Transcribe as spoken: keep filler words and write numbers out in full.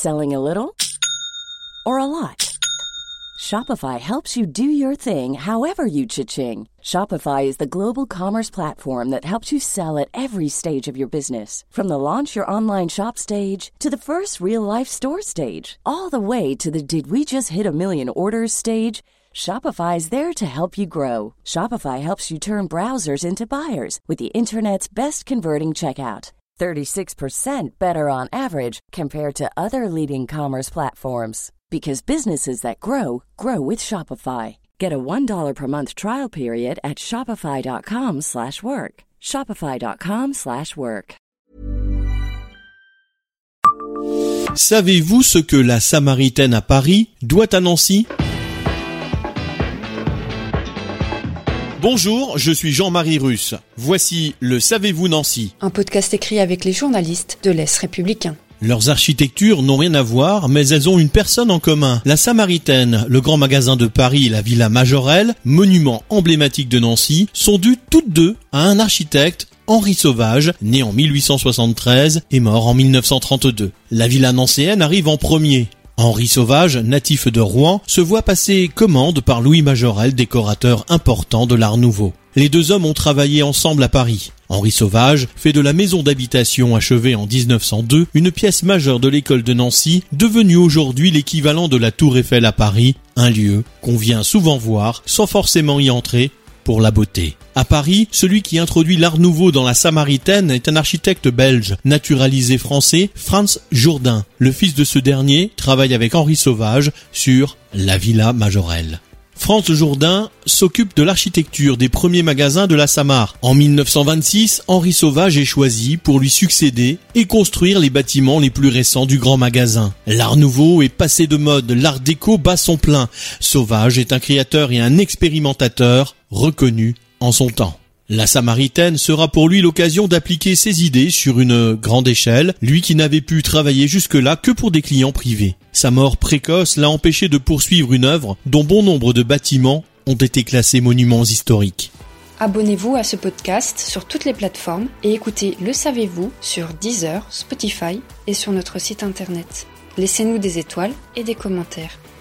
Selling a little or a lot? Shopify helps you do your thing however you cha-ching. Shopify is the global commerce platform that helps you sell at every stage of your business. From the launch your online shop stage to the first real-life store stage, all the way to the did we just hit a million orders stage. Shopify is there to help you grow. Shopify helps you turn browsers into buyers with the internet's best converting checkout. thirty-six percent better on average compared to other leading commerce platforms. Because businesses that grow, grow with Shopify. Get a one dollar per month trial period at shopify.com slash work. Shopify.com slash work. Savez-vous ce que la Samaritaine à Paris doit à Nancy ? Bonjour, je suis Jean-Marie Russe. Voici le Savez-vous Nancy ? Un podcast écrit avec les journalistes de l'Est républicain. Leurs architectures n'ont rien à voir, mais elles ont une personne en commun. La Samaritaine, le grand magasin de Paris et la Villa Majorelle, monument emblématique de Nancy, sont dues toutes deux à un architecte, Henri Sauvage, né en mille huit cent soixante-treize et mort en mille neuf cent trente-deux. La villa nancéenne arrive en premier. Henri Sauvage, natif de Rouen, se voit passer commande par Louis Majorelle, décorateur important de l'Art Nouveau. Les deux hommes ont travaillé ensemble à Paris. Henri Sauvage fait de la maison d'habitation achevée en dix-neuf cent deux une pièce majeure de l'école de Nancy, devenue aujourd'hui l'équivalent de la Tour Eiffel à Paris, un lieu qu'on vient souvent voir sans forcément y entrer pour la beauté. À Paris, celui qui introduit l'Art Nouveau dans la Samaritaine est un architecte belge, naturalisé français, Frans Jourdain. Le fils de ce dernier travaille avec Henri Sauvage sur la Villa Majorelle. Frans Jourdain s'occupe de l'architecture des premiers magasins de la Samar. En mille neuf cent vingt-six, Henri Sauvage est choisi pour lui succéder et construire les bâtiments les plus récents du grand magasin. L'Art Nouveau est passé de mode, l'Art déco bat son plein. Sauvage est un créateur et un expérimentateur reconnu en son temps. La Samaritaine sera pour lui l'occasion d'appliquer ses idées sur une grande échelle, lui qui n'avait pu travailler jusque-là que pour des clients privés. Sa mort précoce l'a empêché de poursuivre une œuvre dont bon nombre de bâtiments ont été classés monuments historiques. Abonnez-vous à ce podcast sur toutes les plateformes et écoutez Le Savez-vous sur Deezer, Spotify et sur notre site internet. Laissez-nous des étoiles et des commentaires.